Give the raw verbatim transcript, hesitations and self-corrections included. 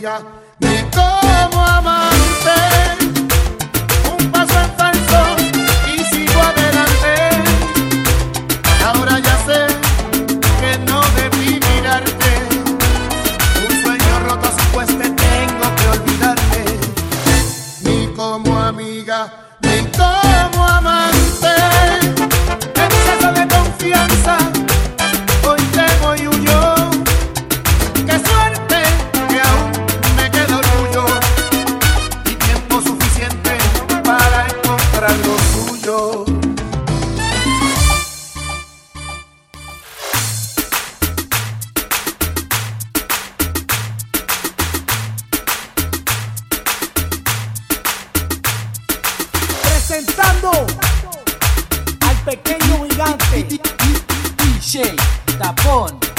amiga, ni como amante. Un paso en falso y sigo adelante. Ahora ya sé que no debí mirarte. Un sueño roto así pues te tengo que olvidarte. Ni como amiga, ni como amante. Exceso de confianza, hoy temo y huyo. Qué suerte que aún me queda orgullo y tiempo suficiente para encontrar lo suyo. Presentando al pequeño gigante D J Tapón.